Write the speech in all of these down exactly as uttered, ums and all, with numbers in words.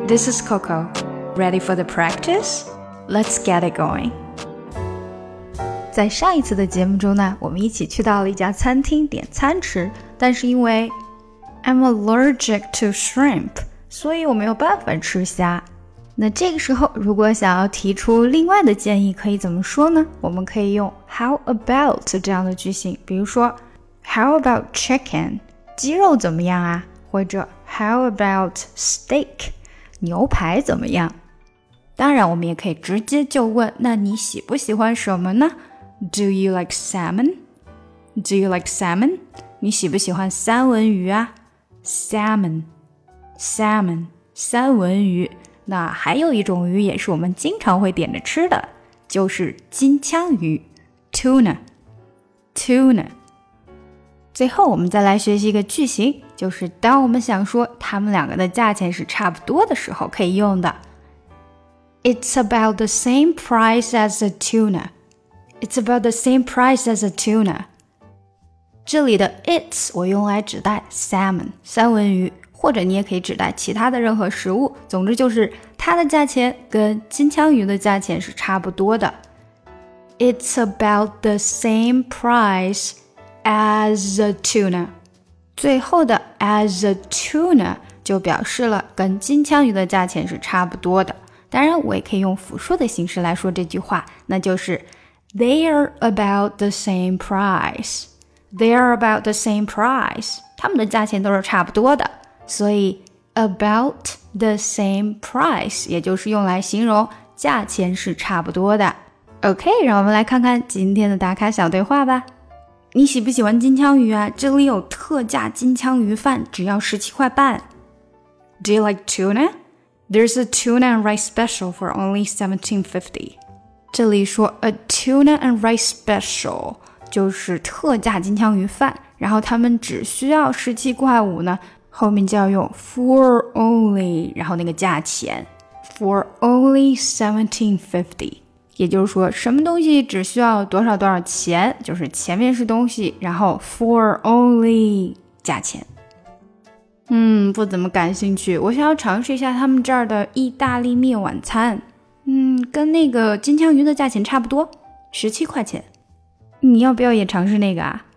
This is Coco. Ready for the practice? Let's get it going. 在上一次的节目中呢，我们一起去到了一家餐厅点餐吃，但是因为 I'm allergic to shrimp， 所以我没有办法吃虾。那这个时候，如果想要提出另外的建议，可以怎么说呢？我们可以用 How about 这样的句型，比如说 How about chicken？ 鸡肉怎么样啊？或者 How about steak？ 牛排怎么样？当然，我们也可以直接就问，那你喜不喜欢什么呢？ Do you like salmon? Do you like salmon? 你喜不喜欢三文鱼啊？ Salmon, salmon, 三文鱼。那还有一种鱼也是我们经常会点着吃的，就是金枪鱼 Tuna, tuna。 最后我们再来学习一个句型，就是当我们想说它们两个的价钱是差不多的时候可以用的。 It's about the same price as a tuna. It's about the same price as a tuna. 这里的 it's 我用来指代 salmon 三文鱼，或者你也可以指代其他的任何食物，总之就是它的价钱跟金枪鱼的价钱是差不多的。 It's about the same price as a tuna。 最后的 as a tuna 就表示了跟金枪鱼的价钱是差不多的。当然我也可以用复数的形式来说这句话，那就是 They're about the same price. They're about the same price. 他们的价钱都是差不多的，所以 about the same price 也就是用来形容价钱是差不多的。 OK， 让我们来看看今天的打卡小对话吧。你喜不喜欢金枪鱼啊？这里有特价金枪鱼饭，只要十七块半。 Do you like tuna? There's a tuna and rice special for only seventeen fifty. 这里说 a tuna and rice special 就是特价金枪鱼饭，然后他们只需要十七块五呢，后面就要用 for only， 然后那个价钱 for only seventeen fifty， 也就是说什么东西只需要多少多少钱，就是前面是东西，然后 for only 价钱。嗯，不怎么感兴趣，我想要尝试一下他们这儿的意大利面晚餐。嗯，跟那个金枪鱼的价钱差不多，十七块钱。你要不要也尝试那个啊？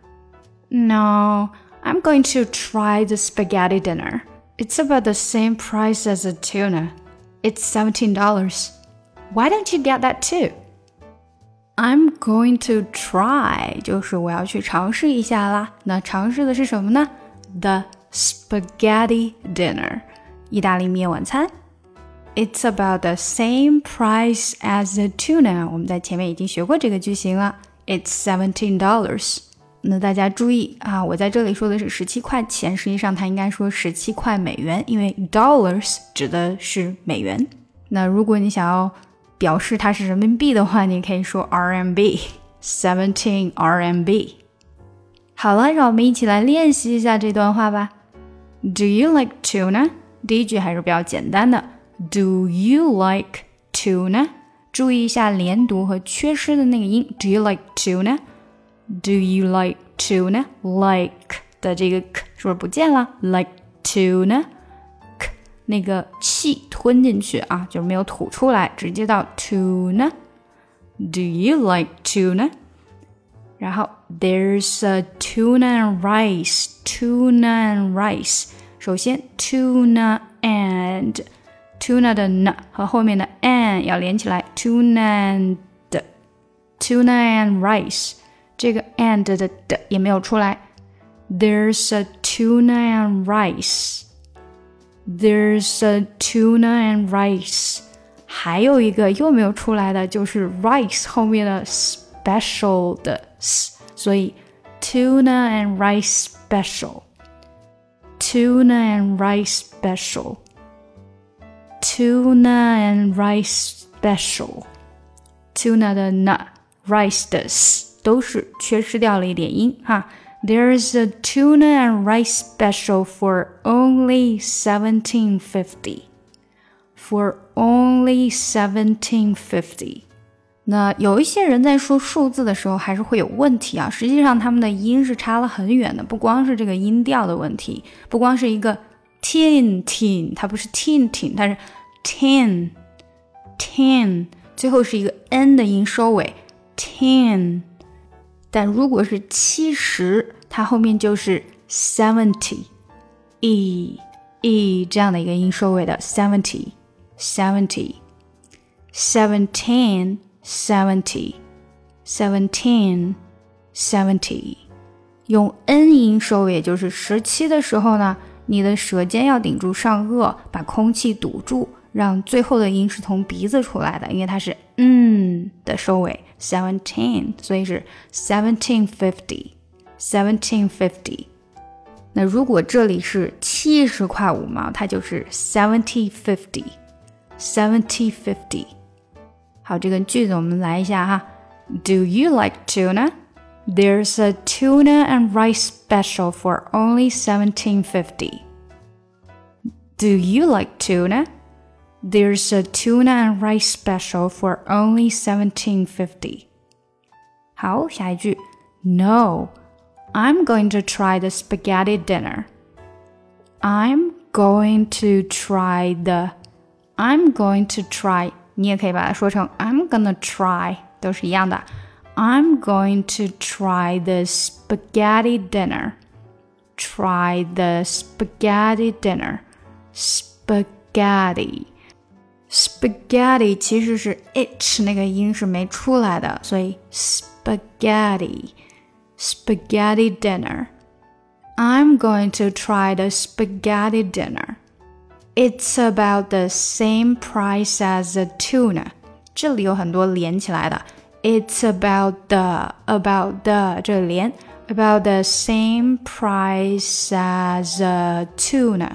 No, I'm going to try the spaghetti dinner. It's about the same price as a tuna. It's seventeen dollars. Why don't you get that too? I'm going to try 就是我要去尝试一下啦。那尝试的是什么呢？ The spaghetti dinner 意大利面晚餐。 It's about the same price as a tuna 我们在前面已经学过这个句型了。 It's seventeen dollars。 那大家注意啊，我在这里说的是十七块钱，实际上它应该说十七块美元，因为 dollars 指的是美元。那如果你想要表示它是人民币的话，你可以说 R M B seventeen R M B。 好了，让我们一起来练习一下这段话吧。 Do you like tuna？ 第一句还是比较简单的 Do you like tuna？ 注意一下连读和缺失的那个音 Do you like tuna？ Do you like tuna？ Like 的这个 k 是不是不见了？ Like tuna， k 那个气吞进去啊，就是没有吐出来，直接到 tuna。 Do you like tuna？ 然后 There's a tuna and rice Tuna and rice。 首先 tuna and tuna 的 n 和后面的 and 要连起来 tuna and tuna and rice， 这个 and 的 d 也没有出来。 There's a tuna and rice There's a tuna and rice。 还有一个又没有出来的就是 rice 后面的 special 的 s， 所以 tuna and rice special Tuna and rice special Tuna and rice special。 Tuna 的 n rice 的 s 都是缺失掉了一点音哈。 There's a tuna and rice special for only seventeen fifty For only seventeen fifty。 那有一些人在说数字的时候还是会有问题啊，实际上他们的音是差了很远的，不光是这个音调的问题，不光是一个 tin tin， 它不是 tin tin， 它是 ten ten 最后是一个 n 的音收尾 ten， 但如果是七十，它后面就是 seventy e e 这样的一个音收尾的 seventy seventy seventeen seventy seventeen seventy 用 n 音收尾，也就是十七的时候呢，你的舌尖要顶住上颚，把空气堵住，让最后的音是从鼻子出来的，因为它是嗯的收尾 seventeen， 所以是 seventeen fifty seventeen fifty。 那如果这里是七十块五毛，它就是 seventy fifty seventy fifty。 好，这个句子我们来一下哈。 Do you like tuna? There's a tuna and rice special for only seventeen fifty. Do you like tuna? There's a tuna and rice special for only seventeen fifty. 好，下一句 No, I'm going to try the spaghetti dinner. I'm going to try the I'm going to try 你也可以把它说成 I'm gonna try 都是一样的。I'm going to try the spaghetti dinner. Try the spaghetti dinner. Spaghetti Spaghetti 其实是 h 那个音是没出来的，所以 spaghetti Spaghetti dinner. I'm going to try the spaghetti dinner. It's about the same price as a tuna. 这里有很多连起来的。It's about the about the 这里连 about the same price as a tuna.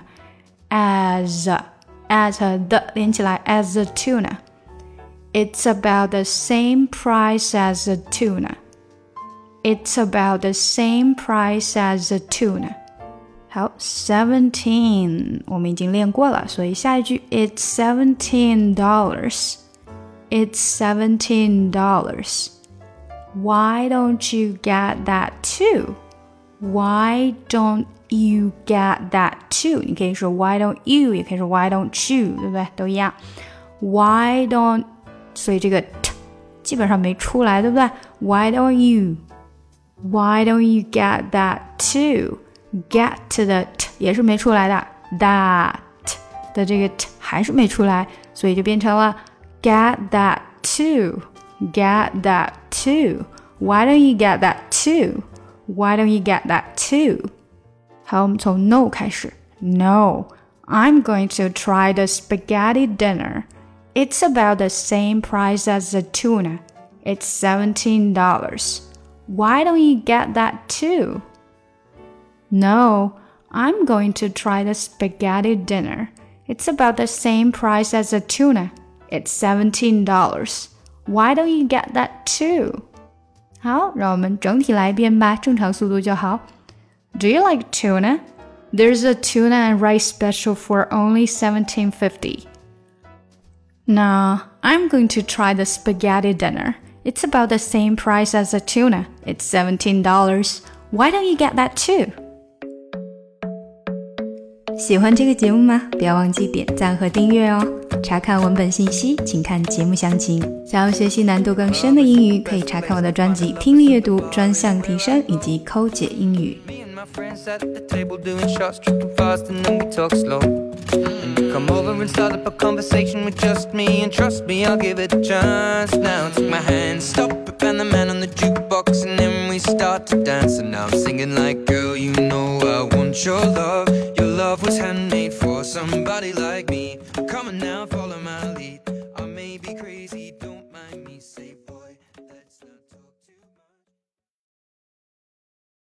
As as the 连起来 as a tuna. It's about the same price as a tuna. It's about the same price as a tuna. 好 seventeen 我们已经练过了，所以下一句 It's seventeen dollars. It's seventeen dollars. Why don't you get that too? Why don't you get that too? 你可以说 Why don't you 也可以说 Why don't you 对不对？都一样 Why don't 所以这个 t 基本上没出来对不对？ Why don't you Why don't you get that too? Get 的 t 也是没出来的 That 的这个 t 还是没出来，所以就变成了Get that too. Get that too. Why don't you get that too? Why don't you get that too? 好，我们从 No 开始。No, I'm going to try the spaghetti dinner. It's about the same price as the tuna. It's seventeen dollars. Why don't you get that too? No, I'm going to try the spaghetti dinner. It's about the same price as the tuna.It's seventeen dollars. Why don't you get that too? 好，让我们整体来一遍吧，正常速度就好。Do you like tuna? There's a tuna and rice special for only seventeen fifty. No, I'm going to try the spaghetti dinner. It's about the same price as the tuna. It's seventeen dollars. Why don't you get that too? 喜欢这个节目吗？不要忘记点赞和订阅哦。查看文本信息，请看节目详情。想要学习难度更深的英语，可以查看我的专辑《听力阅读专项提升》以及抠解英语。Come over and start up a conversation with just me, and trust me, I'll give it a chance. Now take my hand, stop it, and the man on the jukebox, and then we start to dance. And now I'm singing like, girl, you know I want your love. Your love was handmade for somebody like me.